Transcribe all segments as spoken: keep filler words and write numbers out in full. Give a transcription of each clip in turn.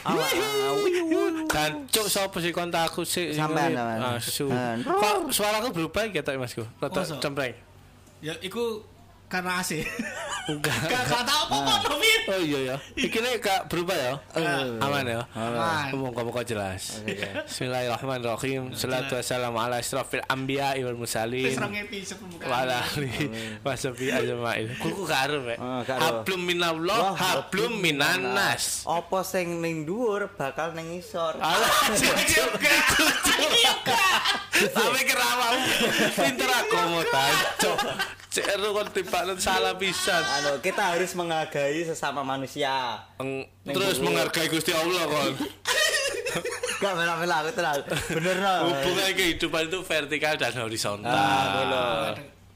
Dan cuk sapa sih kontakku sih sampean asu. Kok suaraku berubah ya tok Masku? Rada cempreng. Ya iku karena A C. Enggak. Gak tahu apa-apa Fit. Oh iya ya. Iki nek gak berubah ya. Aman ya. Aman. Ngomong-ngomong jelas. Bismillahirrahmanirrahim. Shalatu wassalamu ala asyrafil anbiya wal mursalin. Wis rong episode pembukaan. Wala wasabi ajmain. Kuku karo mek. Hablum minallah, hablum minannas. Apa sing ning dhuwur bakal ning isor. Alah juga. Sampe kerawamu. Pinter akomodan. Cok. Cek kon tibakan salah pisan. Anu, kita harus menghargai sesama manusia. Eng, terus menghargai Gusti Allah kon. Gak mela-mela aku tenang. Bener no. Hubungan kehidupan itu vertikal dan horizontal. Ah,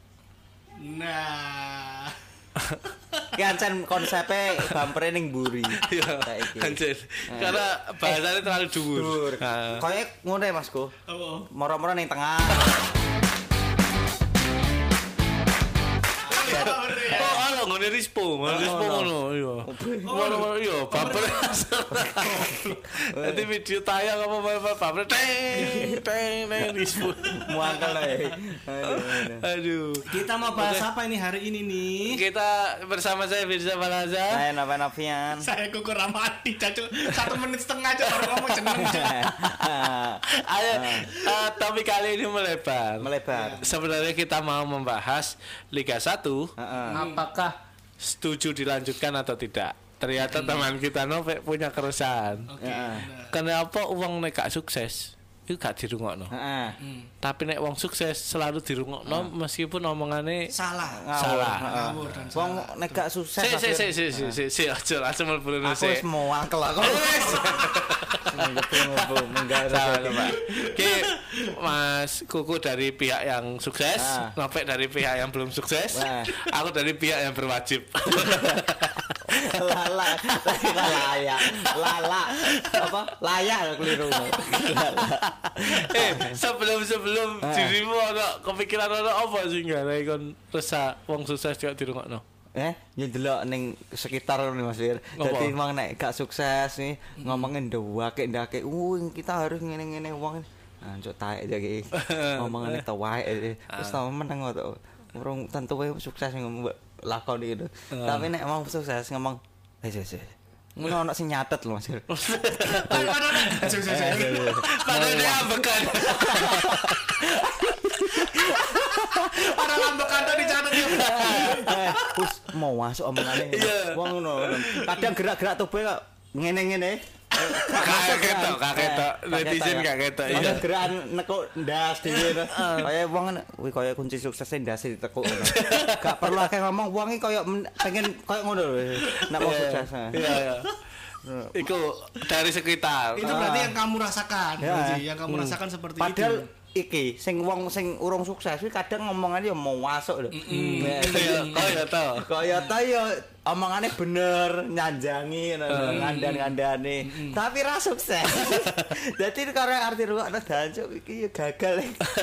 nah. Ki ancen konsepe bampere ning mburi. Iya. Anjir. Karena bahasanya terlalu dhuwur. Kayak ngono ya Masku. Apa? Moro-moro ning tengah. Oh, ala ngene rispo, ngene rispo ngono, iya. Ngono iya, baper. Nanti video tayang apa baper teng teng teng rispo. Muangkel ae. Aduh. Kita mau bahas apa ini hari ini nih? Kita bersama saya Firza Balaza. Saya Nova Novian. Saya Kuku Ramati, Cacu. Satu menit setengah aja baru kamu jeneng. Ayo, uh, topik kali ini melebar. Melebar. Sebenarnya kita mau membahas Liga satu. Heeh. Apakah setuju dilanjutkan atau tidak? Ternyata hmm. teman kita Nove punya keresahan. Oke. Okay, kenapa uang nek gak sukses? Itu gak dirungokno. Heeh. Hmm. Tapi nek wong sukses selalu dirungokno meskipun omongane salah. Salah. Ngawur dan wong nek gak sukses. Si si si si si si aja langsung mlebu aku wis mau angkel aku. Salah, Pak. Oke, Mas Kuku dari pihak yang sukses, Nove dari pihak yang belum sukses, aku dari pihak yang berwajib. Lala, layak, lala, apa? Layak keliru. Eh, sebelum sebelum dirimu ada kepikiran ada apa sih nggak? Nek kon resah wong sukses juga dirungokno. Eh, ya delok ning sekitar nih Mas Wir. Dadi wong nek gak sukses nih ngomongin ndawake ndake, "Uh, kita harus ngene-ngene wong." Anjuk taek aja iki. Ngomongane ta wae. Wis tau meneng kok. Urung tentu wae sukses ngomong lakon iki. Tapi nek mau sukses ngomong, "Eh, sih. Ngono ono sing nyatet lho Mas. Padahal dia ambekan. Orang ambekan tadi dicatet ya. Eh, wis mau masuk omongane. Wong ngono. Kadang gerak-gerak tubuh kok ngene-ngene. Kakek ketok, kakek ketok. Netizen kakek ketok. Iya. Gerakan nekuk ndas dhewe. Kaya wong kuwi kaya kunci suksese ndas ditekuk ngono. Gak perlu akeh ngomong, wong iki kaya pengen kaya ngono lho. Nek wong sukses. Iya, iya. Iku dari sekitar. Itu berarti yang kamu rasakan, yang kamu rasakan seperti itu. Padahal iki sing wong sing urung sukses kuwi kadang ngomongane ya mau masuk lho. Kaya to. Kaya to ya omongane bener, nyanjangi ngandan-ngandane. Tapi ra sukses. Dadi karo arti rungokno dancuk iki ya gagal.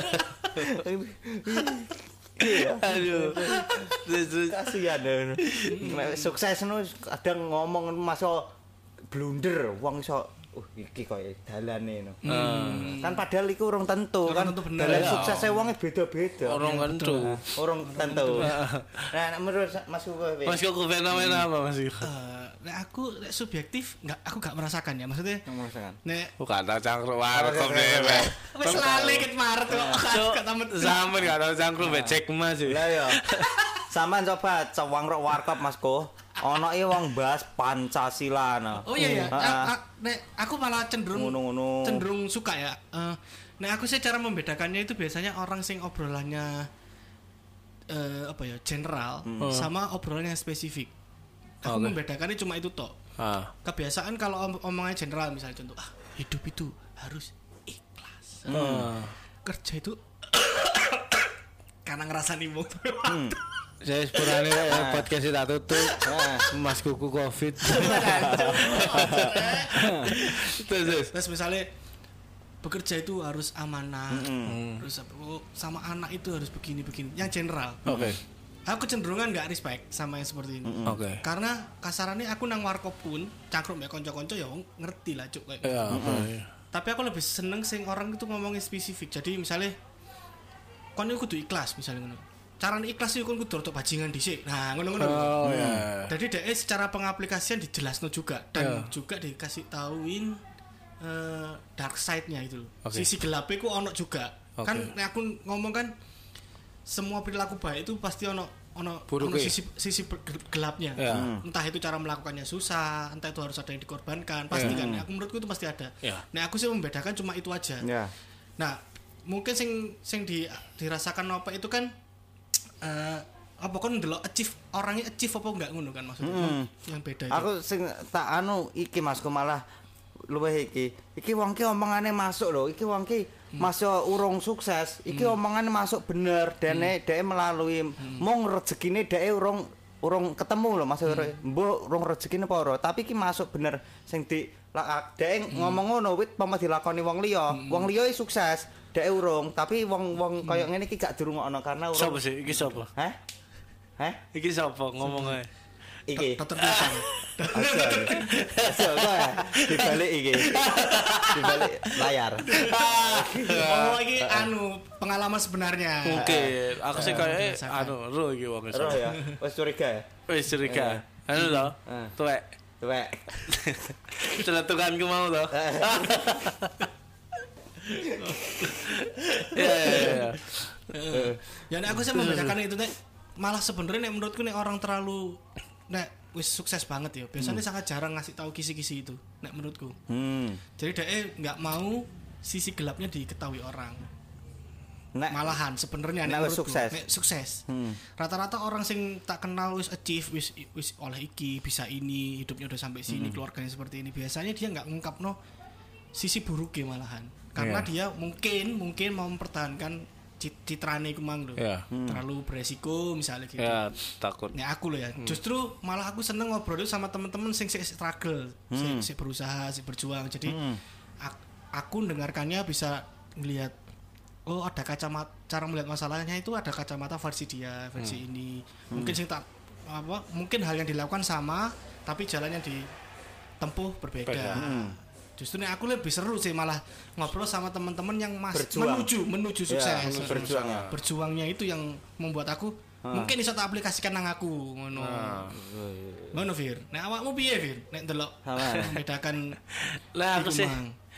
Iya. Aduh. Kasihan. Sukses nu kadang ngomong masuk blunder wong iso uh iki koyo dalane no. Hmm. Kan padahal iku urung tentu kan. Dalan suksese wonge beda-beda. Urung tentu. Urung tentu. Nah, menurut Mas Kuku Mas Kuku fenomena apa Mas Kuku? Uh, nek aku nek subjektif enggak aku enggak merasakan ya. Maksudnya merasakan. Nek bukan tak cangkruk warkop dhewe. Wis lali ket Maret kok. Sampe enggak tau cangkruk becek Mas. Lah ya. Sampeyan coba cawangruk warkop Mas Ko. Ono iki wong bahas Pancasila nah. Oh iya ya. Nek aku malah cenderung ngono-ngono. Cenderung suka ya. Uh, nek aku sih cara membedakannya itu biasanya orang sing obrolannya uh, apa ya, general hmm. sama obrolannya spesifik. Aku okay. membedakannya cuma itu tok. Ah. Kebiasaan kalau om omongnya general misalnya contoh, ah, hidup itu harus ikhlas. Hmm. Kerja itu karena ngerasa nimung. Hmm. Saya sepurane ya podcast tak tutup. Mas Kuku Covid. Terus terus misalnya bekerja itu harus amanah. Mm-hmm. Terus sama anak itu harus begini-begini. Yang general. Oke. Okay. aku cenderungan nggak respect sama yang seperti ini. Mm-hmm. Oke. Okay. Karena kasarannya aku nang warkop pun cangkruk mbek kanca-kanca ya ngerti lah cuk kayak. Iya, mm-hmm. Tapi aku lebih seneng sing orang itu ngomongin spesifik. Jadi misalnya kon iku kudu ikhlas misalnya ngono. Carane ikhlas iku kon kudu rodok bajingan dhisik. Nah, ngono-ngono. Oh iya. Yeah. Jadi dhek secara pengaplikasian dijelasno juga dan yeah. juga dikasih tauin uh, dark side-nya itu loh. Okay. Sisi gelapnya ku ono juga. Okay. Kan aku ngomong kan semua perilaku baik itu pasti ono ono, ono sisi sisi gelapnya. Yeah. Entah itu cara melakukannya susah, entah itu harus ada yang dikorbankan, pasti yeah. kan. Aku menurutku itu pasti ada. Yeah. Nah, aku sih membedakan cuma itu aja. Yeah. Nah, mungkin sing sing di dirasakan apa itu kan uh, apa kan ndelok achieve orangnya achieve apa enggak ngono kan maksudnya. Hmm. Yang beda itu. Aku sing tak anu iki Masku malah luwih iki. Iki wong ki omongane masuk lho, iki wong ki hmm. masuk urung sukses, iki hmm. omongane masuk bener dene hmm. dhek melalui hmm. mung rezekine dhek urung urung ketemu lho maksud hmm. mbok urung rezekine apa ora, tapi iki masuk bener sing di dhek hmm. ngomong ngono wit pamah dilakoni wong liya, hmm. wong liya sukses, dhek urung, tapi wong-wong koyo ngene iki gak dirungokno karena urung. Sopo sih iki sopo? Hah? Hah? Iki sopo ngomongnya? Iki. Dokter Pisang. Sopo dibalik iki. Dibalik layar. Oh, iki anu pengalaman sebenarnya. Mungkin aku sih kayak anu ro iki wong ro ya. Wis curiga ya? Wis curiga. Anu lho. Tuwek. Tuwek. Celetukanku mau lho. Ya ya ya. Ya nek aku sih membedakan itu nek malah sebenarnya nek menurutku nek orang terlalu nek wis sukses banget ya biasanya hmm. sangat jarang ngasih tahu kisi-kisi itu nek menurutku. Hmm. Jadi dia nggak mau sisi gelapnya diketahui orang. Nek, malahan sebenarnya nek menurutku sukses. Nek sukses. Hmm. Rata-rata orang sing tak kenal wis achieve wis wis oleh iki bisa ini hidupnya udah sampai sini hmm. keluarganya seperti ini biasanya dia nggak ngungkapno sisi buruknya malahan karena yeah. dia mungkin mungkin mau mempertahankan citrane iku mang lho. Yeah. Hmm. Terlalu beresiko misalnya gitu. Ya, yeah, takut. Nek aku lho ya. Hmm. Justru malah aku seneng ngobrol itu sama teman-teman sing struggle, hmm. sing, sing berusaha, sing berjuang. Jadi hmm. aku, aku dengarkannya bisa ngelihat oh ada kacamata cara melihat masalahnya itu ada kacamata versi dia, versi hmm. ini. Mungkin hmm. sing tak apa mungkin hal yang dilakukan sama tapi jalan yang ditempuh berbeda. Hmm. Justru nih aku lebih seru sih malah ngobrol sama teman-teman yang mas Berjuang. menuju menuju sukses. Ya, berjuang ya. Berjuangnya itu yang membuat aku ha. mungkin bisa tak aplikasikan nang aku ngono. Ngono Fir. Nek awakmu piye Fir? Nek ndelok membedakan lah aku sih.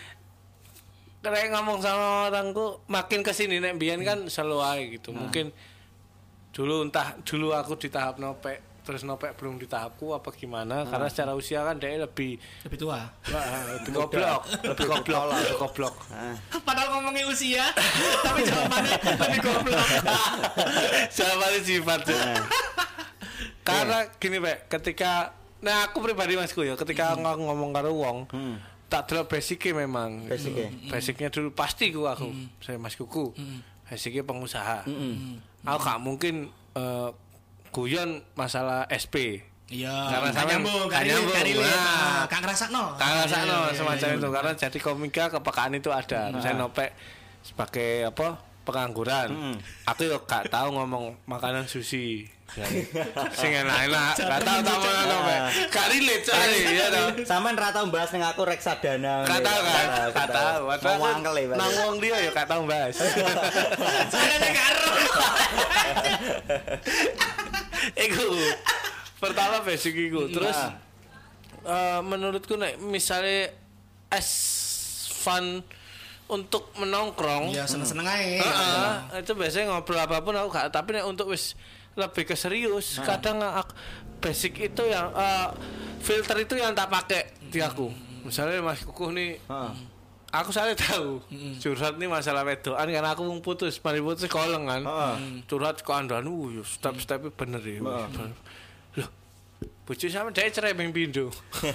Karena ngomong sama orangku makin kesini nek mbiyen kan selalu ae gitu. Ha. Mungkin dulu entah dulu aku di tahap nopek terus nopek belum di tahapku apa gimana hmm. karena secara usia kan dia lebih lebih tua lebih goblok lebih goblok lebih goblok padahal ngomongin usia tapi jawabannya lebih goblok jawabannya sifat karena gini Pak ketika nah aku pribadi Masku ya ketika hmm. aku ngomong karo wong hmm. tak delok basicnya memang basicnya basicnya dulu pasti ku aku hmm. saya Mas Kuku hmm. basicnya pengusaha hmm. aku gak mungkin uh, guyon masalah S P. Iya. Karena saya nyambung, kan nyambung. Kang ngrasakno. Kang ngrasakno semacam itu karena jadi komika kepekaan itu ada. Misalnya nopek sebagai apa? Pengangguran. Hmm. Aku yo gak tahu ngomong makanan sushi. Sing enak-enak. Gak tahu tamu nopek. Gak relate cari ya toh. Sampean ra tau bahas ning aku reksadana. Gak tahu kan? Gak tahu. Nang wong dia yo gak tahu bahas. Saya karo. Iku pertama basic iku terus nah. uh, menurutku nek misalnya as fun untuk menongkrong ya seneng-seneng ae uh, uh, itu biasanya ngobrol apapun aku gak tapi nek untuk wis lebih ke serius nah. kadang aku, basic itu yang uh, filter itu yang tak pakai di aku misalnya Mas Kukuh nih uh. aku salah tahu mm-hmm. curhat nih masalah wedoan karena aku mau putus mari putus koleng kan uh. curhat ke andan uh step-stepnya bener ya uh. loh bocah sama dia cerai beng pindo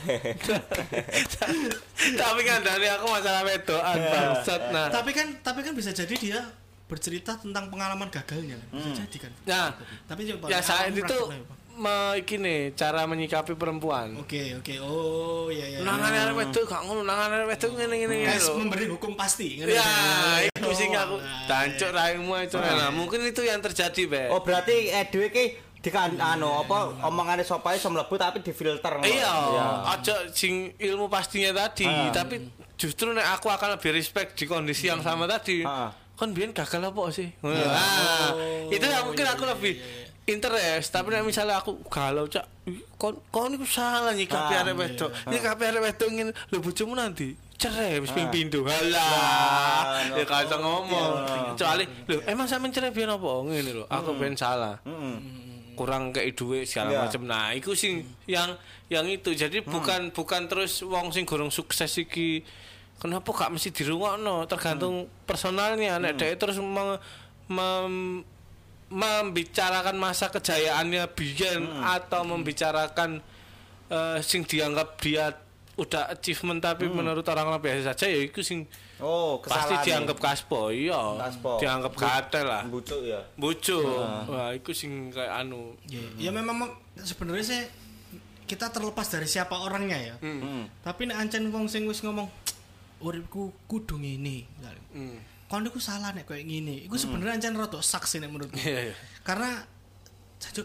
tapi kan dari aku masalah wedoan bangsat nah tapi kan tapi kan bisa jadi dia bercerita tentang pengalaman gagalnya bisa hmm. jadi kan nah tapi ya saat itu me, iki nih cara menyikapi perempuan. Oke, oke. Oh, iya iya. Nangane arek wedok gak ngono, nangane arek wedok ngene-ngene Guys, lho. memberi hukum pasti. Ya, iku sing aku dancuk raimu itu. Nah, mungkin itu yang terjadi, Be. Oh, berarti edwe iki dikan anu apa omongane sopae iso mlebu tapi difilter. Iya, aja sing ilmu pastinya tadi, tapi justru nek aku akan lebih respect di kondisi yang sama tadi. Kon biyen gagal apa sih? Nah, itu ya mungkin aku lebih interest, tapi nek misalnya aku galau cak kon kon niku salah nyikapi arek wedok. Nyikapi arek wedok ngene lho bojomu nanti cerai wis ping pindho. Halah. Ya kan ngomong. Kecuali lho emang sampean cerai biyen apa ngene lho. Aku ben salah. Kurang kayak duit segala macam. Nah, iku sing yang yang itu. Jadi bukan bukan terus wong sing gorong sukses iki kenapa gak mesti dirungokno, tergantung personalnya. Nek dhek terus mem, mem, membicarakan masa kejayaannya biyen hmm. atau membicarakan uh, sing dianggap dia udah achievement tapi hmm. menurut orang lain biasa saja ya itu sing oh, pasti dianggap kaspo iya kaspo. Dianggap katel lah bucuk ya bucuk nah. Wah itu sing kayak anu ya, hmm. ya memang sebenarnya sih kita terlepas dari siapa orangnya ya hmm. tapi nek ancen wong sing wis ngomong uripku kudu ngene hmm. kon iku salah nek koyo ngene. Iku sebenarnya ancen rada saksi nek menurutku. Yeah, yeah. Karena jajuk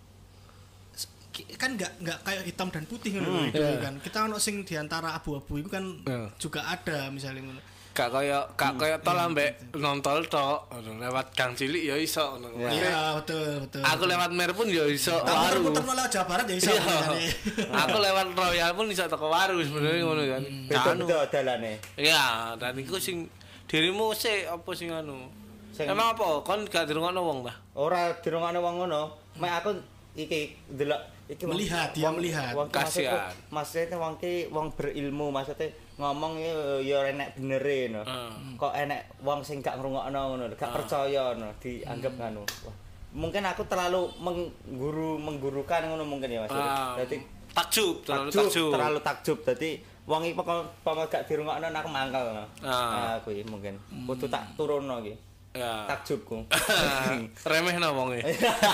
kan enggak enggak kayak hitam dan putih ngono mm, yeah. kan. Kita ono sing diantara abu-abu itu kan yeah. juga ada misalnya ngono. Gak kaya gak kaya tol ambek nontol tok lewat gang cilik ya iso ngono. Iya, betul, betul. Aku lewat Mer pun ya iso. Aku puter lewat Jawa Barat ya iso. Aku lewat Royal pun iso teko Waru sebenarnya ngono kan. Betul dalane. Iya, dan iku sing dirimu sih apa sing anu? Emang apa? Kon gak dirungokno wong ta? Ora dirungokno wong ngono. Mek aku iki delok iki melihat dia melihat. Kasihan. Maksudnya wong ki wong berilmu maksudnya ngomong ya enek benere no. Kok enek wong sing gak ngrungokno ngono, gak percaya no, dianggap ngono. Mungkin aku terlalu mengguru menggurukan ngono mungkin ya Mas. Dadi takjub, terlalu takjub. Terlalu takjub. Dadi wong iki pokoke gak dirungokno aku mangkel. Nah, aku iki mungkin kudu tak turunno iki. Ya. Takjubku. Remehno wonge.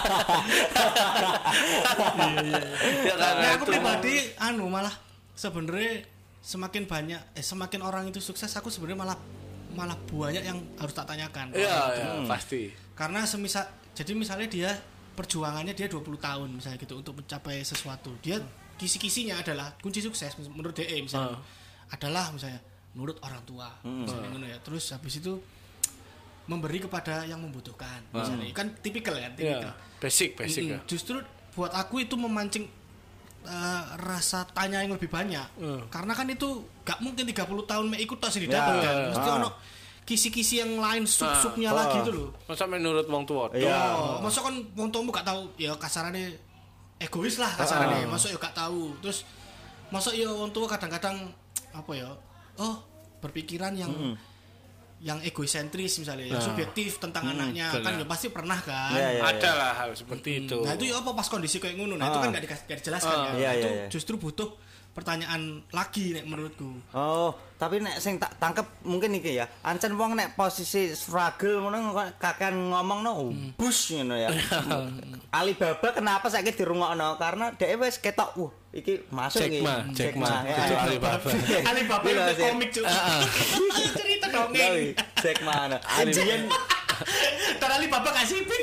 Ya kan aku pribadi anu malah sebenarnya semakin banyak eh semakin orang itu sukses aku sebenarnya malah malah banyak yang harus tak tanyakan. Iya, ya, hmm. pasti. Karena semisal jadi misalnya dia perjuangannya dia dua puluh tahun misalnya gitu untuk mencapai sesuatu. Dia kisi-kisinya adalah kunci sukses menurut D E misalnya uh. adalah misalnya menurut orang tua hmm. misalnya ngono ya terus habis itu memberi kepada yang membutuhkan uh. misalnya kan tipikal ya tipikal yeah. basic basic mm-hmm. ya. Justru buat aku itu memancing uh, rasa tanya yang lebih banyak uh. karena kan itu gak mungkin tiga puluh tahun mek ikut tas didapat yeah. kan mesti uh. ono kisi-kisi yang lain sub-subnya uh. lagi itu loh masa menurut wong tua iya oh, masa kan wong tuamu gak tahu ya kasarannya egois lah kasarnya, uh. masuk ya gak tahu. Terus masuk ya orang tua kadang-kadang apa ya? Oh, berpikiran yang mm. yang egosentris misalnya, uh. yang subjektif tentang mm, anaknya bener. Kan ya pasti pernah kan. Yeah, yeah, ada lah hal seperti mm. itu. Nah, itu ya apa pas kondisi kayak ngono. Nah, uh. itu kan gak, di, gak dijelaskan uh. kan. Yeah, itu yeah, yeah. justru butuh pertanyaan lagi nek menurutku. Oh, tapi nek sing tak tangkep mungkin iki ya. Ancen wong nek posisi struggle ngono kakean ngomongno hmm. bus ngono ya. Alibaba kenapa saiki dirungokno? Karena dhek wis ketok wah iki masuk iki. Jack Ma, Jack Ma. Alibaba. Alibaba itu komik juga. Cerita dongeng. Jack Ma. Alien Terali bapak kasih pit.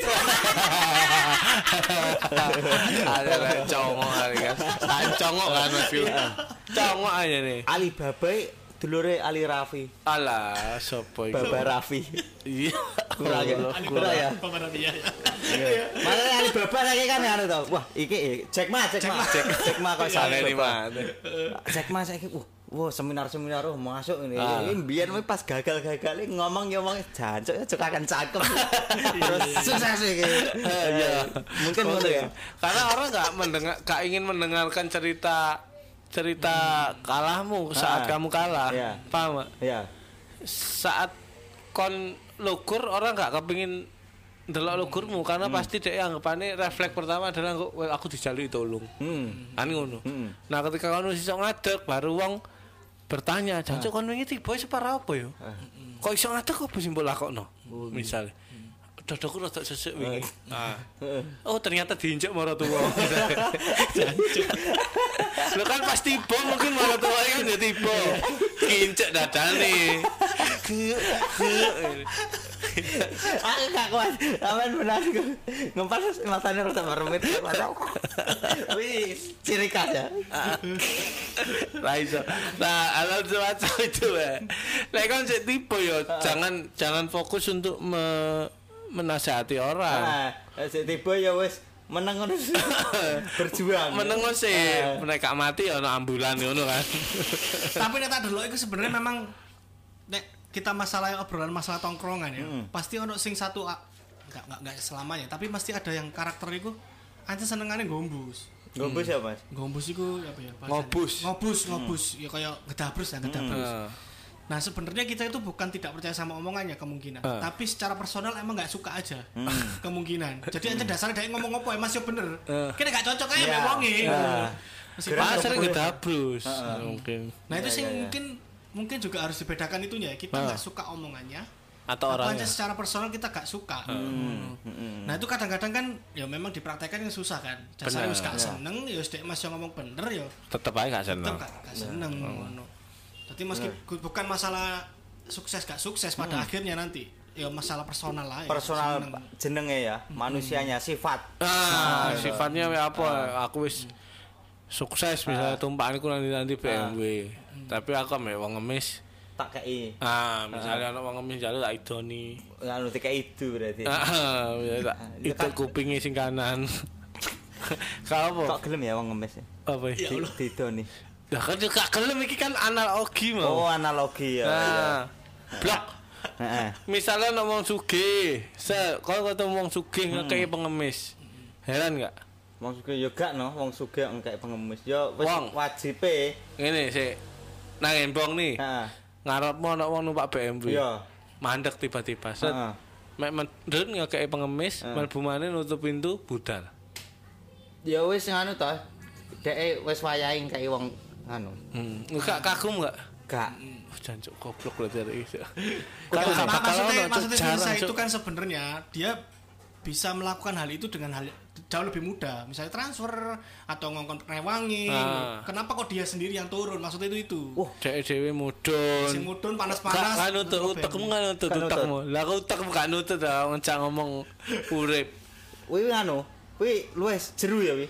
Ada lah congok kali kan. Kan congok kan Mas Yu. Congok aja nih. Alibaba dulure Ali Raffi. Alah, sopo iku? Baba Raffi. Iya. Kurang ya. Kurang ya. Baba Raffi ya. Malah Alibaba saiki kan anu to. Wah, iki Jack Ma, Jack Ma. Jack Ma kok sale iki mah. Jack Ma saiki wah Wah, seminar-seminar oh masuk ini. Ah. Ini biar pas gagal-gagal ngomong ya ngomong jancuk ya akan cakep. Terus sukses iki. Ya. Mungkin ngono ya. Karena orang enggak mendengar enggak ingin mendengarkan cerita cerita hmm. kalahmu saat ah. kamu kalah. Ya. Paham? Iya. Saat kon lugur orang enggak kepengin ndelok lugurmu karena hmm. pasti dia anggapane refleks pertama adalah aku dijalui tolong. Hmm. Kan ngono. Hmm. Nah, ketika kamu iso ngadeg baru wong bertanya, "Jancuk kon wingi tiba separa apa ya? Kok iso ngadeg apa sing mbok lakokno?" Misale. dadaku rada sesek wingi. Nah. Oh, ternyata diinjak maratuwa. Lho kan pas tiba mungkin maratuwa kan ya tiba. Kincek dadane. Aku gak kuat. Aman benar ngempas matanya rada meremit. Wis, ciri khas ya. Lah iso. Nah, alam semacam itu ya. Lek kan sik tipe ya, jangan jangan fokus untuk me, menasihati orang. Nah, sik tipe ya wis meneng ngono. Berjuang. Meneng sih, nek gak mati ya ono ambulan ngono kan. Tapi nek tak delok iku sebenarnya memang nek kita masalah obrolan masalah tongkrongan ya. Hmm. Pasti ono sing satu enggak enggak enggak selamanya, tapi pasti ada yang karakter iku ancen senengane gombus. Gombus ya, Mas? Gombus iku apa ya? Ngobus. Ngobus, ngobus. Hmm. Ya kayak gedabrus ya, gedabrus. Hmm. Nah, sebenarnya kita itu bukan tidak percaya sama omongannya kemungkinan, uh. tapi secara personal emang nggak suka aja. Hmm. Kemungkinan. Jadi aja dasarnya dia ngomong apa ya Mas yo bener. Uh. Kene gak cocok aja yeah. Ngomongin. Yeah. Meskipun sering gedabrus. Uh. Mungkin. Nah, itu sih yeah, yeah, mungkin mungkin juga harus dibedakan itunya ya. Kita nggak uh. suka omongannya atau orangnya. Apa secara personal kita gak suka. Hmm. Hmm. Nah, itu kadang-kadang kan ya memang dipraktekkan yang susah kan. Dasarnya wis gak seneng ya wis dek Mas yang ngomong bener ya. Tetep aja gak seneng. Tetep gak seneng ngono. Jadi meski bukan masalah sukses gak sukses pada hmm. akhirnya nanti ya masalah personal lah ya. Personal jenenge ya, hmm. manusianya sifat. Ah, nah, sifatnya ya apa? Ah. Aku wis sukses misalnya ah. tumpahanku nanti-nanti B M W. Ah. Tapi aku mek wong ngemis tak kei. Ah, misalnya ana wong ngemis jalu tak idoni. Anu dikei itu berarti. Ah, tak itu kupinge sing kanan. Kalau kok gelem ya wong ngemis? Apa ya didoni? Lah kan juga gelem iki kan analogi mau. Oh, analogi ya. Nah, blok. Heeh. Misalnya ana wong sugih, se kalau ketemu wong sugih ngekeki pengemis. Heran enggak? Wong sugih yo gak no, wong sugih ngekeki pengemis. Yo wis wajibe. Ngene sik. Nang embong nih. Heeh. Ngarepmu ana wong numpak B M W. Iya. Mandek tiba-tiba. Set. Heeh. Mek mendhet ngekeki pengemis, mlebu maneh nutup pintu budal. Ya wis ngono to. Dek wis wayahe ngekeki wong anu. Hmm. Enggak kagum enggak? Enggak. Oh, jancuk goblok berarti iki. Kan maksudnya maksudnya saya itu kan sebenarnya dia bisa melakukan hal itu dengan hal jauh lebih mudah. Misalnya transfer atau ngongkon rewangi. Ah. Kenapa kok dia sendiri yang turun? Maksudnya itu itu. Wah, uh, dhewe mudun. Sing mudun panas-panas. Kan nutut utekmu kan nutut utekmu. Lah aku utekmu gak nutut ta ngecak ngomong urip. Kuwi anu, kuwi luwes jeru ya kuwi.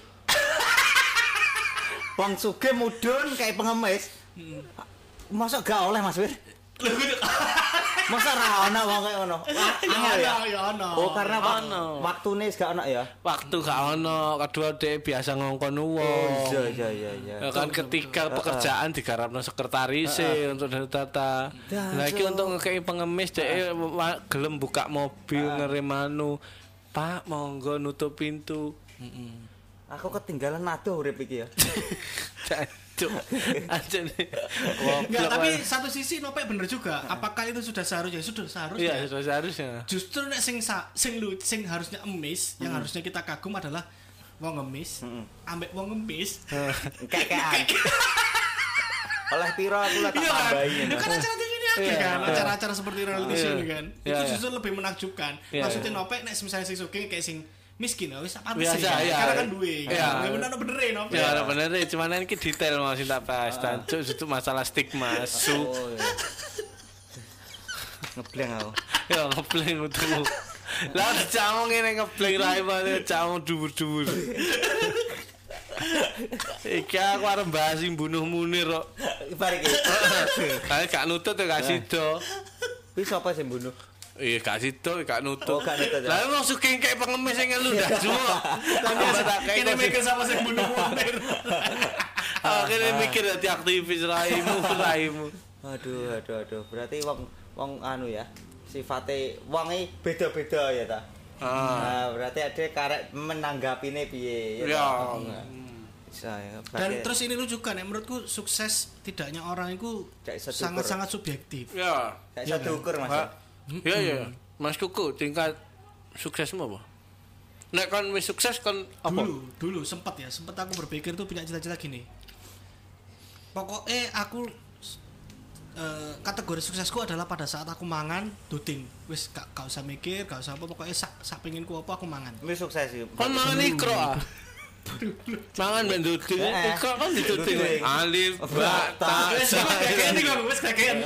Wong sugih mudun kayak pengemis. Hmm. Masa gak oleh Mas Wir? Masa ra ono wong kaya ngono? Ya ya ono. Oh, karena waktune wis gak ono ya. Waktu gak ono, kedua dhek biasa ngongkon wong. Oh, iya iya iya iya. Kan ketika pekerjaan digarapno sekretaris untuk data. Lah iki untuk ngekeki pengemis dhek gelem buka mobil ngerem anu. Pak, monggo nutup pintu. Heeh. Aku ketinggalan aduh urip iki ya. Cuk. Anjir. Enggak, tapi satu sisi Nopek bener juga. Apakah itu sudah seharusnya? Sudah seharusnya. Iya, sudah seharusnya. Justru nek sing sing lu sing harusnya emis, yang harusnya kita kagum adalah wong ngemis, ambek wong ngemis. Kakean. Oleh piro aku lah tak tambahin. Kan acara T V ini ada kan, acara-acara seperti reality show kan. Itu justru lebih menakjubkan. Maksudnya Nopek nek misalnya sing sugih kayak sing miskin wis apa sih karena kan duwe kan bener bener no ya bener cuman iki detail mau sing tak bahas tancuk itu masalah stigma su ngebleng aku ya ngebleng utuh lah camong ngene ngebleng rae banget camong dhuwur-dhuwur iki aku arep bahas sing bunuh Munir kok bar iki kae gak nutut ya gak sido wis sapa sing bunuh. Iya gak situ, gak nutup. Oh, gak nutup. Lah mau suking kayak pengemis yang ngelu dah semua. Kene mikir sama sing bunuh Munir. Ah, kene mikir dadi aktivis raimu, raimu. Aduh, aduh, aduh. Berarti wong wong anu ya. Sifate wong iki beda-beda ya ta. Ah. Nah, berarti ada karek menanggapine piye ya. Ya. Saya, dan terus ini lu juga nek menurutku sukses tidaknya orang itu sangat-sangat subjektif. Ya. Kayak satu ukur Mas. Iya iya, Mas Kuku tingkat suksesmu apa? Nek kan wis sukses kan apa? Dulu, dulu sempat ya, sempat aku berpikir tuh punya cita-cita gini. Pokoknya aku uh, kategori suksesku adalah pada saat aku mangan duting. Wis gak gak usah mikir, gak usah apa pokoknya sak sak penginku apa aku mangan. Wis sukses iki. Kon mangan ikro ah. Mangan ben duting, ikro kan dituting. Alif ba ta. Wis kakek iki kok wis kakek.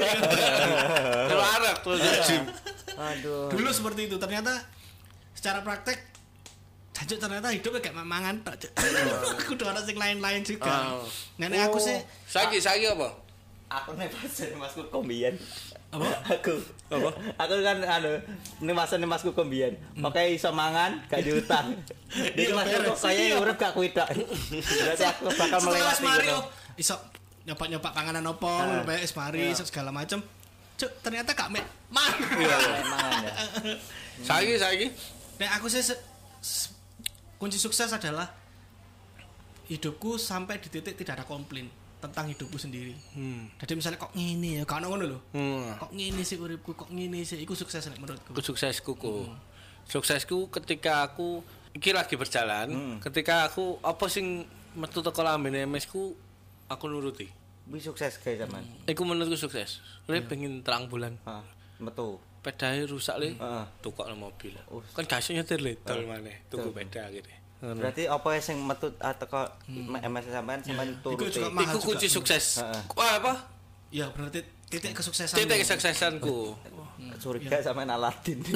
Terus arek terus gym. Aduh. Dulu seperti itu, ternyata secara praktek jancuk ternyata hidupnya kayak mangan tok. Kudu ana sing lain-lain juga. Nenek aku sih saiki saiki apa? Aku nek pasen Masku kombian. apa? Aku. Apa? Aku kan anu nek pasen Masku kombian. Makanya iso mangan gak diutang. Jadi Masku kok kaya urip gak kuwi tok. Berarti aku bakal melewati Mario iso nyoba-nyoba panganan opo, ngono wis mari iso segala macem. Cuk, ternyata gak mek mangan. Iya, mangan ya. Saiki saiki Nek aku sih se- se- kunci sukses adalah hidupku sampai di titik tidak ada komplain tentang hidupku sendiri. Hmm. Jadi misalnya kok ngene ya, kan ngono lho. Hmm. Kok ngene sih uripku, kok ngene sih, iku sukses nek menurutku. Ku suksesku ku. Hmm. Suksesku ketika aku iki lagi berjalan, hmm. ketika aku apa sing metu teko lambene M S ku aku nuruti. Wis sukses guys zaman. Iku menurutku sukses. Le pengen terang bulan. Heeh. Metu. Pedahe rusak le. Heeh. Tukokno mobil. Kan gak iso nyetir le tol maneh. Tuku peda gitu. Berarti apa sing metu teko M S sampean sampean turuti. Iku kunci sukses. Wah apa? Ya berarti titik kesuksesan. Titik kesuksesanku. Curiga sampean Aladin.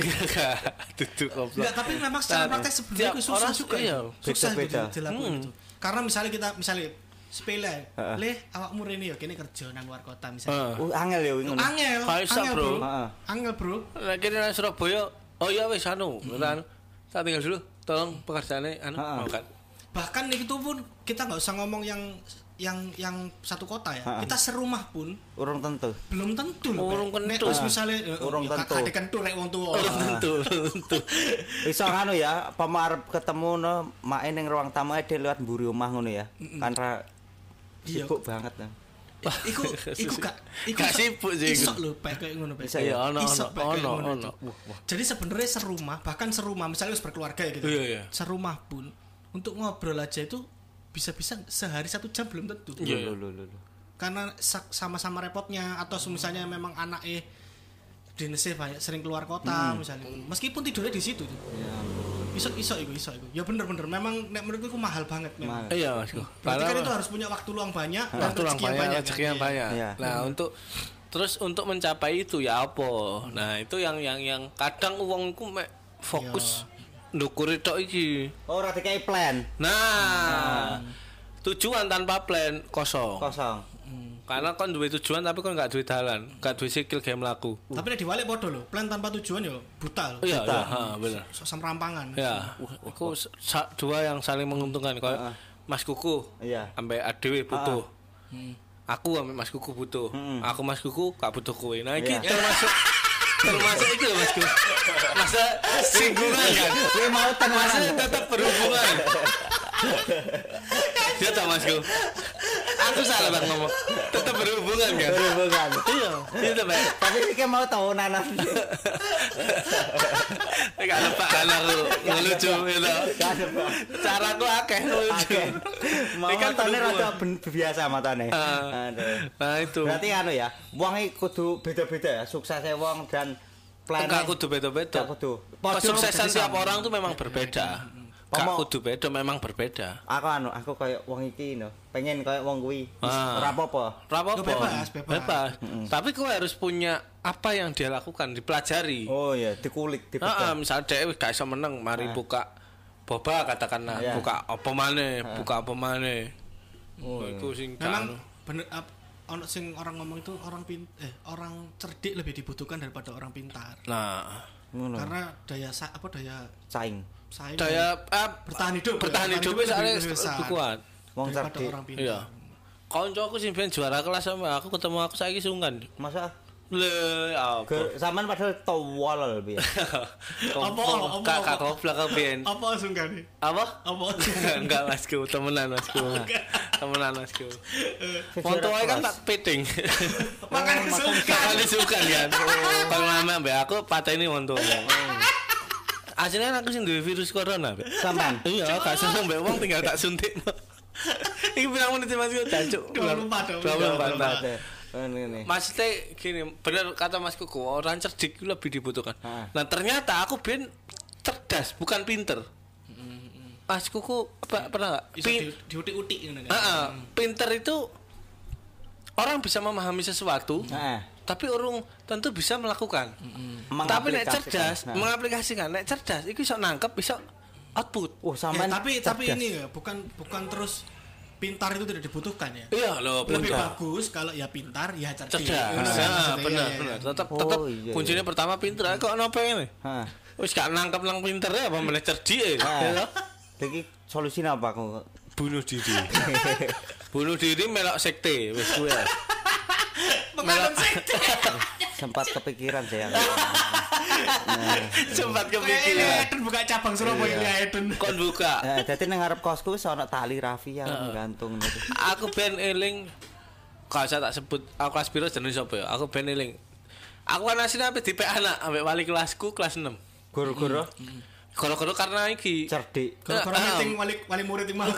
Duduk goblok. Enggak, tapi memang secara praktek sebenarnya itu susah juga. Iya, susah beda-beda. dilakukan itu. Karena misalnya kita misalnya sepele, le awakmu rene ya kene kerja nang luar kota misalnya. Uh, angel ya ngono. Angel, Kaisa, angel bro. bro. Angel bro. Lah kene nang Surabaya, oh iya wis anu, anu. Tak tinggal dulu. Tolong pekerjaannya anu makan. Bahkan itu pun kita nggak usah ngomong yang yang yang satu kota ya. Ha-ha. Kita serumah pun Urung tentu. belum tentu loh. Urung Nek tentu. wis misale Urung tentu. Kadek kentu rek wong tuwa. Urung tentu, tentu. Iso anu ya, pemarep ketemu no make ning ruang tamu e lewat mburi omah ngono ya. Kan ra Iya. sibuk banget ya. Iku iku gak iku Gak sibuk sih iku. Iso lho pek kayak ngono pek. Bisa ya? Iya, ono Iso ono pek kayak ono ngono ono. itu. Jadi sebenarnya serumah, bahkan serumah misalnya harus berkeluarga ya gitu. Iya, iya. Serumah pun untuk ngobrol aja itu bisa-bisa sehari satu jam belum tentu. Iya. Lho lho lho. Karena sa- sama-sama repotnya atau misalnya memang anak eh dinese banyak sering keluar kota misalnya. Meskipun tidurnya di situ. Ya ampun. Iso iso iku iso iku. Ya bener-bener memang nek menurutku itu mahal banget memang. Mahal. Iya, Masku. Berarti kan itu harus punya waktu luang banyak dan waktu yang rezeki yang banyak, banyak. rezeki kan? yang banyak. Iya. Nah, untuk terus untuk mencapai itu ya apa? Nah, itu yang yang yang kadang uangku mek fokus ndukuri tok iki. Oh, ora dikai plan. Nah, tujuan tanpa plan kosong. Kosong. Karena kon duwe tujuan tapi kon gak duwe dalan, gak duwe skill game mlaku. Tapi nek diwalik padha lho, plan tanpa tujuan ya buta lho. Iya, iya, ha, bener. Sok semrampangan. Ya, aku sa- dua yang saling menguntungkan. Kayak Mas Kuku, Iya. sampai Adewe butuh. Aku sampai Mas Kuku butuh. Aku Mas Kuku gak butuh kowe. Nah, iki Iya. termasuk termasuk itu Mas Kuku. Masa singgungan kan? Kowe mau tenanan. Masa tetap berhubungan. Dia tak Mas Kuku. Aku salah bang ngomong. Tetap berhubungan kan? Berhubungan. Iya, itu baik. Tapi iki mau tahunanan. Gak ada pak aku ngelucu gitu. Gak ada, Pak. Caraku akeh ngelucu. Oke. Mau Ini kan matane berhubungan. rada ben- biasa matane. Ah. Aduh. Nah itu. Berarti anu ya, wong iki kudu beda-beda ya, suksesnya wong dan plan. Enggak kudu beda-beda. Enggak kudu. Padha Kesuksesan jadi tiap sama. orang tuh memang berbeda. Gak Pomo- kudu beda, memang berbeda. Aku anu, aku kayak wong iki no, pengen kayak wong kuwi. Wis Ah. ora apa-apa. Rapopo. Bebas, bebas. Tapi kau harus punya apa yang dia lakukan, dipelajari. Oh iya, dikulik, Heeh, dipegang. misalnya dia wis gak iso meneng, mari buka boba katakanlah, Iya. buka apa maneh, buka apa maneh. Oh, itu sing Memang anu. bener ap- ono sing orang ngomong itu orang pin eh orang cerdik lebih dibutuhkan daripada orang pintar. Nah, Ngono. Karena daya sa- apa daya Saing. saing daya eh, bertahan hidup bertahan ya, hidup lebih soalnya besar lebih kuat. Wong daripada cerdik. orang pintar. Iya. Koncoku sing ben juara kelas sama aku ketemu aku saiki sungkan. Masa Le apa? Ge- sampean padahal tawal piye. Apa, apa, Kak apa? kak goblok kau ben. Apa sungkan nih? Apa? Apa? Enggak Masku, temenan Masku. Temenan Masku. Sejarah Foto ae kan kelas. tak piting. Makan sungkan. Kali sukan kan. Kalau lama mbak aku pateni wonto. Aslinya aku sing duwe virus corona, Mbak. Sampean. Iya, gak seneng mbak wong tinggal tak suntik. Iki pirang menit Mas Gu, jancuk. dua puluh empat, dua puluh empat. dua puluh empat. Ini. Maksudnya gini, bener kata Mas Kuku, orang cerdik itu lebih dibutuhkan. Ah. Nah ternyata aku ben cerdas, bukan pinter. Mas Kuku apa, pernah nggak? Bisa Pin- di- diutik-utik gitu kan. Ah, ah. Pinter itu orang bisa memahami sesuatu, Heeh. tapi orang tentu bisa melakukan. Mm-hmm. Tapi nek Mengaplikasikan. cerdas, Nah. mengaplikasikan, nek cerdas, itu bisa nangkep, bisa output. Oh, Ya, sampean tapi tapi cerdas. ini ya bukan bukan terus pintar itu tidak dibutuhkan ya. Iya loh, Lebih benar. bagus kalau ya pintar ya cerdik. Cerdas, Ngono kan ya, maksudnya, benar, iya, benar. iya. Tetap, Oh, tetap iya, kuncinya iya. pertama pinter. Kok nopo ini? Heeh. Wis gak nangkep nang pinter ya, apa meneh cerdik ya? Heeh. Lagi solusinya apa aku? Bunuh diri. Bunuh diri melok sekte, wis kuwi. Mengandung sekte. Sempat kepikiran saya. Sempat Kayak kepikiran. Eden buka cabang Surabaya ya Eden. Kon buka. Eh, dadi nang ngarep kosku wis ana tali rafia gantung gitu. Aku ben eling kalau saya tak sebut aku kelas piro jenenge sapa ya? Aku ben eling. Aku kan asline ape dipek anak ambek wali kelasku kelas enam. Guru-guru Gara-gara karena iki cerdik. Gara-gara Ah, ah. meeting wali wali murid imam.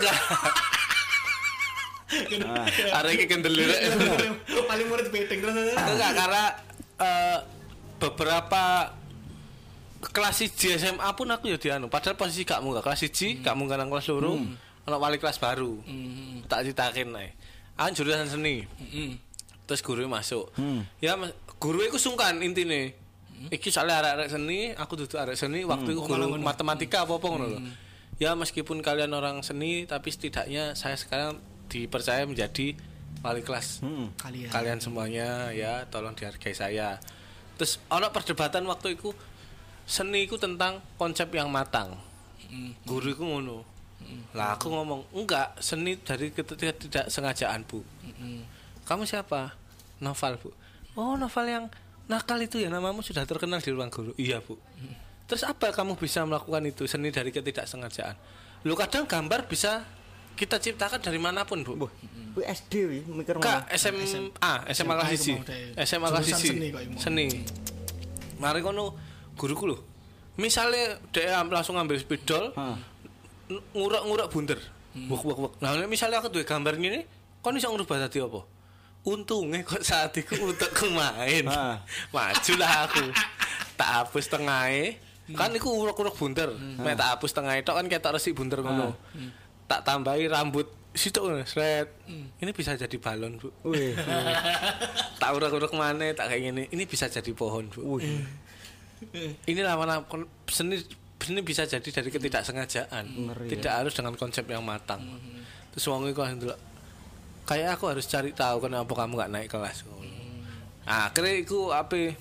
Arek iki kendel lirek. Wali murid meeting terus. Enggak karena eh, beberapa kelas siji S M A pun aku ya dianu. Padahal posisi gak munggah kelas siji, gak munggah nang kelas loro. Ono wali kelas baru. Tak citakin ae. Aku jurusan seni. Terus guru masuk. Hmm. Ya mas- guru iku sungkan intine. Iki soalnya arek-arek seni, aku duduk arek seni, waktu itu guru matematika apa-apa ngono lho. Ya meskipun kalian orang seni, tapi setidaknya saya sekarang dipercaya menjadi wali kelas. Hmm. Kalian. Kalian semuanya ya tolong dihargai saya. Terus ono perdebatan waktu itu seni itu tentang konsep yang matang. Guru itu ngono. Lah aku ngomong enggak, seni dari ketika tidak sengajaan Bu. Kamu siapa? Novel Bu. Oh novel yang nakal itu ya, namamu sudah terkenal di ruang guru. Iya Bu. Terus apa kamu bisa melakukan itu, seni dari ketidaksengajaan? Lu kadang gambar bisa kita ciptakan dari manapun Bu. Kuwi S D wi mikir Kak S M A, S M A kelas siji. S M A kelas Jurusan siji. seni kok iku. Seni. Mari kono guruku lho. Misale dia langsung ngambil spidol, n- ngurek-ngurek bunder. Wek wek wek. Nah, nek misale aku duwe gambar ngene, kon iso ngrubah dadi apa? Untungnya kok saat itu untuk main. Ah. Majulah aku. Tak hapus tengahe. Kan iku urek-urek bunder. Mek tak hapus tengahe tok kan ketok resik bunder ngono. Tak tambahi rambut sitok ngono, sret. Ini bisa jadi balon, Bu. Wih. Tak urek-urek maneh, tak kayak gini. Ini bisa jadi pohon, Bu. Wih. Ini lawan seni seni bisa jadi dari ketidaksengajaan. Ngeri, Tidak harus dengan konsep yang matang. Terus wong iku ndelok kayak aku harus cari tahu kenapa kamu gak naik kelas. Ah, akhirnya iku ape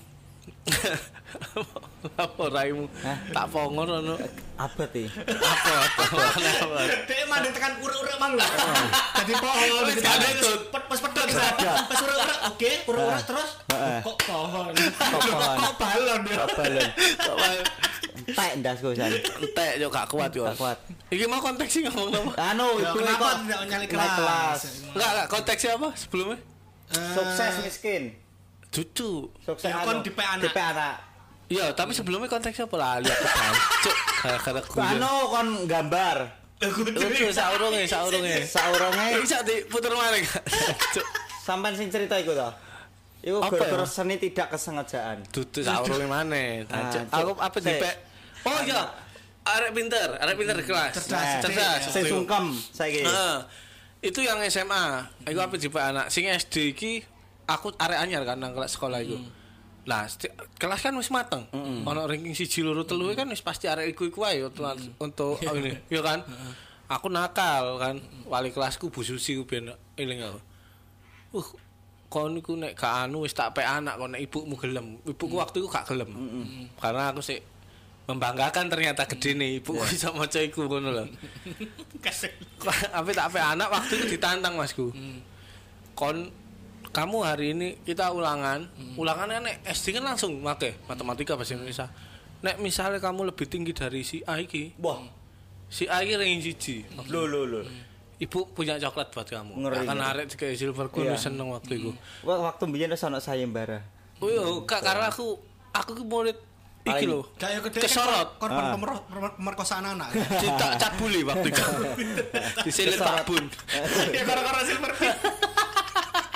apa raimu tak pongor ono Apa ti? apa apa Dek mandek tekan urek-urek mang lho. Jadi pohon Wis gitu. gak ada Terus tut. pet- Pas pedot pas urek-urek oke, urek-urek terus Heeh. kok pohon. Kok pohon. Kok balon ya. Apa lho? Entek ndasku san. entek yo gak kuat yo. Gak kuat. Iki mau konteksnya ngomong apa? Anu, Ya, itu kenapa kok tidak nyali naik kelas? kelas. Enggak enggak konteksnya apa sebelumnya? Sukses miskin. Cucu. Sukses Ya, anu. kon dipe anak. Dipe anak. Iya, tapi sebelumnya konteksnya apa lah? Lihat cuk. Gara-gara gue. Anu kon gambar. Lucu saurunge, saurunge. Saurunge Bisa diputer maling. Cuk. sampean sing cerita iku to. Iku Apa gara-gara ya? seni tidak kesengajaan. Dudu saurunge maneh. Ah, Cuk. Cuk. Aku apa Sik. dipek? Oh iya. Arek pinter, arek pinter di kelas. Cerdas, cerdas. Sing sungkem saiki. Heeh. Itu yang S M A. Iku apa dipek anak. Sing S D iki aku arek anyar kan nang kelas sekolah iku. Lah, sti- kelas kan wis mateng. Ono ranking siji loro telu kan wis pasti arek iku-iku wae untuk untuk ini, ya kan? Aku nakal kan. Wali kelasku Bu Susi ku ben eling aku. Uh, kon iku nek gak anu wis tak pek anak kon nek ibumu gelem. Ibuku waktu iku gak gelem. Karena aku sik membanggakan ternyata gedene ibuku iso maca iku ngono lho. Tapi tak pek anak waktu itu ditantang Masku. Kon kamu hari ini kita ulangan, hmm. ulangannya nek S D kan langsung make matematika bahasa Indonesia. Nek misalnya kamu lebih tinggi dari si A iki, Wah, si A iki ranking siji. lho lho lho. Ibu punya coklat buat kamu. Ngeri, Akan ngeri. arek kayak silver ku Iya. seneng waktu itu. Wah, waktu mbiyen wis ana sayembara. Oh iya, Kak, karena aku aku ki murid iki lho. Kayak gede Kesorot. korban Ah. pemer- pemer- pemerkosaan anak. Ditak cabuli waktu itu. Disilit Pak Bun. Ya gara-gara silver pin.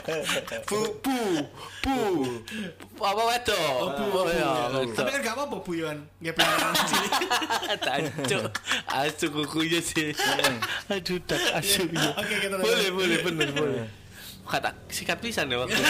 Bu bu bu apa wedok? Oh, bu, Oh, ya, bu. wedok. Tapi kan gak apa-apa Bu Yon. Nggak pelanggaran cilik. Tancuk, asu kukunya sih. Aduh, tak asu. Oke, kita lanjut. Boleh, boleh, bener, boleh. Kata sikat pisan ya waktu.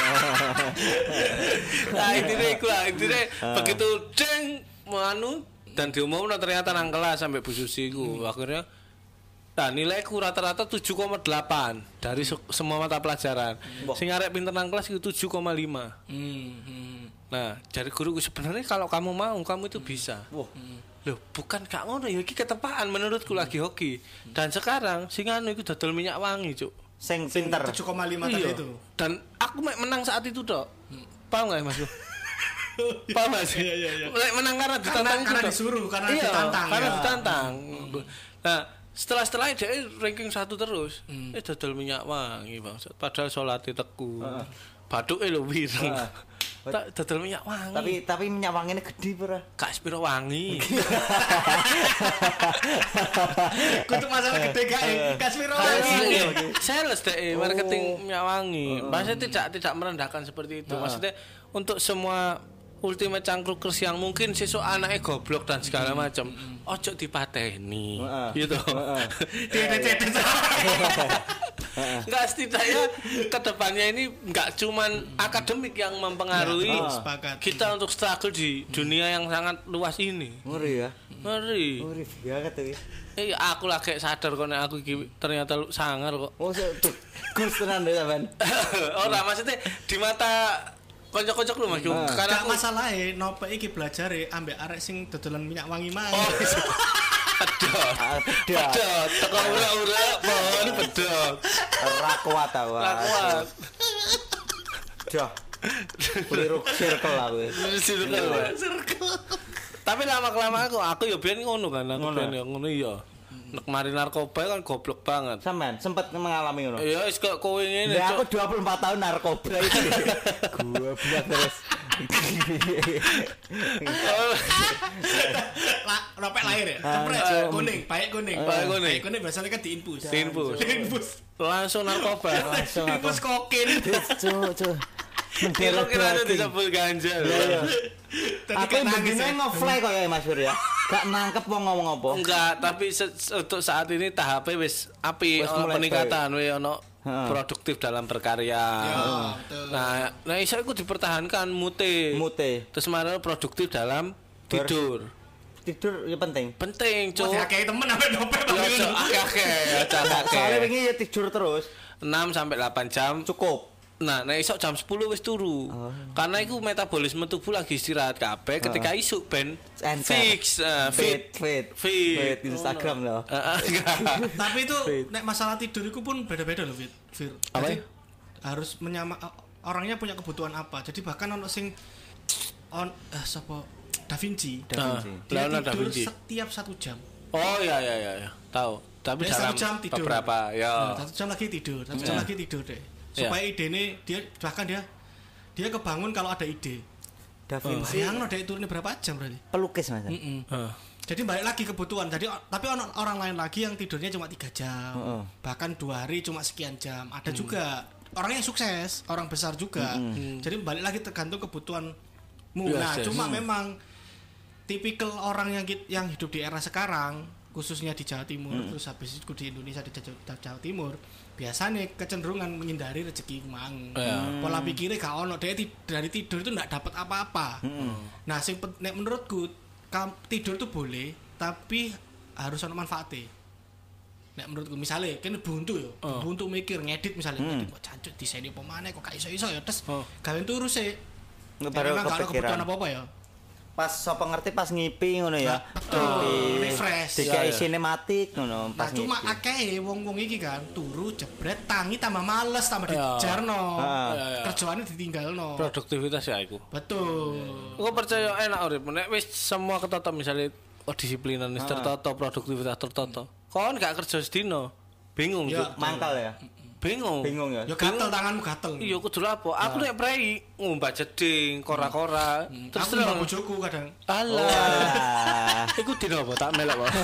Nah, intinya iku lah, intinya begitu deng manu dan diumumkan ternyata nang kelas sampai Bu Susi iku. Akhirnya nah nilaiku rata-rata tujuh koma delapan dari se- semua mata pelajaran. Sing arek pinter nang kelas itu tujuh koma lima. Hmm, hmm. Nah, dari guruku sebenarnya kalau kamu mau, kamu itu bisa. Wah. Loh, bukan gak ngono ya iki ketepaan menurutku lagi hoki. Dan sekarang sing anu iku dodol minyak wangi, Cuk. Sing pinter. tujuh koma lima tadi Iya. itu. Dan aku mek menang saat itu, Dok. Paham gak, Mas? Paham Mas? Iya, iya, iya. Mek menang karena Karena ditantang itu, karena Dok. disuruh, karena Iya, ditantang. karena ya. ditantang. Nah, setelah setelah dia ranking satu terus, Hmm. eh dodol minyak wangi, Bang. Padahal salate teku. Baduke lho wireng. Tak dodol minyak wangi. Tapi tapi minyak wanginya gede pura. Kak Spiro wangi. Kudu masalah gede gak ya? Kasmiro lagi. Iya, sales deh marketing minyak wangi. Maksudnya tidak tidak merendahkan seperti itu. Maksudnya untuk semua ultimate cangkrukers yang mungkin sesuk anaknya goblok dan segala macam, ojo dipateni. Gitu. Tidak-tidak. Enggak, setidaknya kedepannya ini enggak cuman akademik yang mempengaruhi Ya, sepakat. kita untuk struggle di dunia yang sangat luas ini. Ngeri ya. Ngeri. Ngeri banget tuh. Eh, aku lagi sadar kok nek aku iki ternyata lu sangar kok. Oh, tuh. Gus tenan deh, Ban. Ora maksudnya di mata kocok-kocok lu Mas. Ah. Karena Gak aku masalah e nopo iki belajar e ambek arek sing dodolan minyak wangi mang. oh pedot. Ah, pedot. Pedot. Teko ura-ura pohon pedot. Ora kuat aku. Ora kuat. Dah. Keliru circle lah wis. Circle. Tapi lama-kelamaan aku aku ya biyen ngono kan, aku Ngono. biyen ya ngono iya. Nek mari narkoba kan goblok banget. Sampean sempat mengalami ngono. Ya wis kok kowe ngene. Lah Cuk. aku dua puluh empat tahun narkoba itu. Gua bilang terus. Lah, ropek lahir ya. Cepret Ah, kuning, paek kuning. Paek kuning. Paek kuning biasanya kan diinfus. Diinfus. Diinfus. Langsung narkoba. Langsung aku. Diinfus kokain. Cuk, cuk. Kira kira ada disebut ganja. Iya. Tadi Aku kan nangis begini ya. nge-fly kok ya Mas Sur ya. Gak nangkep wong ngomong apa. Enggak, tapi se- se- untuk saat ini tahapnya wis api Wis ono mulai peningkatan wis ono Heeh. produktif dalam berkarya. Ya, betul. Nah, nah iso iku dipertahankan mute. Mute. Terus marah produktif dalam tidur. Tidur ya penting. Penting, Cuk, Cuk. kayak temen sampe dopet Ya, Cuk, akeh-akeh, aja Soalnya akeh. wingi ya tidur terus enam sampai delapan jam. cukup. Nah, nek isuk jam sepuluh wis turu. Karena iku metabolisme tubuh lagi istirahat kabeh ketika isuk ben Encer. fix eh, fit. Fit, fit, Fit. fit Instagram loh. Heeh, enggak. Tapi itu nek masalah tidur itu pun beda-beda loh, Fit. Fir. Apa Jadi, harus menyama orangnya punya kebutuhan apa. Jadi bahkan ono sing on eh sapa Da Vinci. Da Vinci. Ah, Dia Leonardo da tidur Vinci. setiap satu jam. Oh iya iya iya, iya. Tahu. Tapi Dia dalam satu jam tidur. beberapa ya. Nah, satu jam lagi tidur, satu jam Ya. lagi tidur deh. Ya. Supaya ide ini dia bahkan dia dia kebangun kalau ada ide. Da Vinci Bayang dia turunnya berapa jam berarti? pelukis Mas. Mm-mm. Heeh. Jadi balik lagi kebutuhan. Jadi o- tapi ono orang lain lagi yang tidurnya cuma tiga jam, Heeh. bahkan dua hari cuma sekian jam. Ada juga orang yang sukses, orang besar juga. Jadi balik lagi tergantung kebutuhanmu. Yes, Nah, yes. cuma memang tipikal orang yang kit- yang hidup di era sekarang, khususnya di Jawa Timur, terus habis itu di Indonesia di Jawa, Jawa Timur, biasanya kecenderungan menghindari rezeki mang. Ya. Pola pikirnya gak ono, dia ti- dari tidur itu nggak dapat apa-apa. Nah, sing pen- nek menurutku kam- tidur itu boleh, tapi harus ada manfaatnya. Nek menurutku misalnya kan buntu ya, Oh. buntu mikir ngedit misalnya, ngedit kok cancuk diseni apa maneh kok gak iso-iso ya, terus Oh. gawe turu sih. Nggak Ya, baru memang gak ada kepikiran. kebutuhan apa-apa ya. Pas sapa ngerti pas ngipi ngono ya. Betul, Ngipi. refresh. Dikai Ya, ya. sinematik ngono Nah, pas cuma ngipi. akeh wong-wong iki kan turu jebret tangi tambah males tambah Ya. dijarno. Ah. Ya, ya. Kerjaannya ditinggalno. Produktivitas ya iku. Betul. Aku percaya enak urip nek wis semua ketata misalnya oh, disiplinan wis Ah. tertata, produktivitas tertata. Kon gak kerja sedino, bingung Ya. Cuk. Mangkal ya. bingung. Bingung ya. Yo gatel tanganmu gatel. Iya kudu lapo. Aku nek prei ngumbah jeding, kora-kora. Terus Terus aku terus bojoku kadang. alah. Wah. Iku dino apa tak melok apa.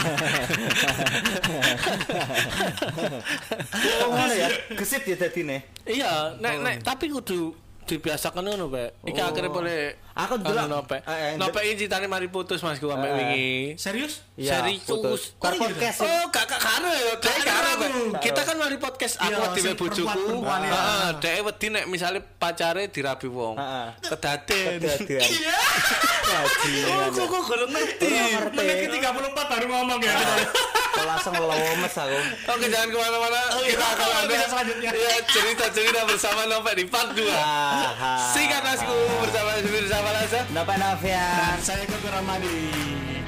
Oh ngono ya. Gesit ya dadine. Iya, nek nek tapi kudu dibiasakan ngono, Pak. Iki Oh. akhirnya boleh Aku dulu nopek. eh, eh, Nopek iki citane mari putus Mas ku Eh, sampe wingi. Serius? Iya, Serius. putus. Oh, Tar iya. podcast. Oh, gak gak karo ya, dek Gak karo. karo aku. Kita kan mari podcast Iya, aku dhewe sing bojoku. perempuan-perempuan ya. Heeh, dek wedi nek misale pacare dirabi wong. Heeh. Kedaden. Kedaden. Iya. Bajingan. Oh, kok kok gak ngerti. Ora ngerti. Menit ke tiga puluh empat baru ngomong ya. Kok langsung lemes aku. Oke, jangan kemana-mana. iya. Kita akan ada Bisa selanjutnya. ya, cerita-cerita bersama Nopek di part dua. Ah. Sikat Masku bersama bersama Laza. Napa Novian? Dan saya Koko Ramadi.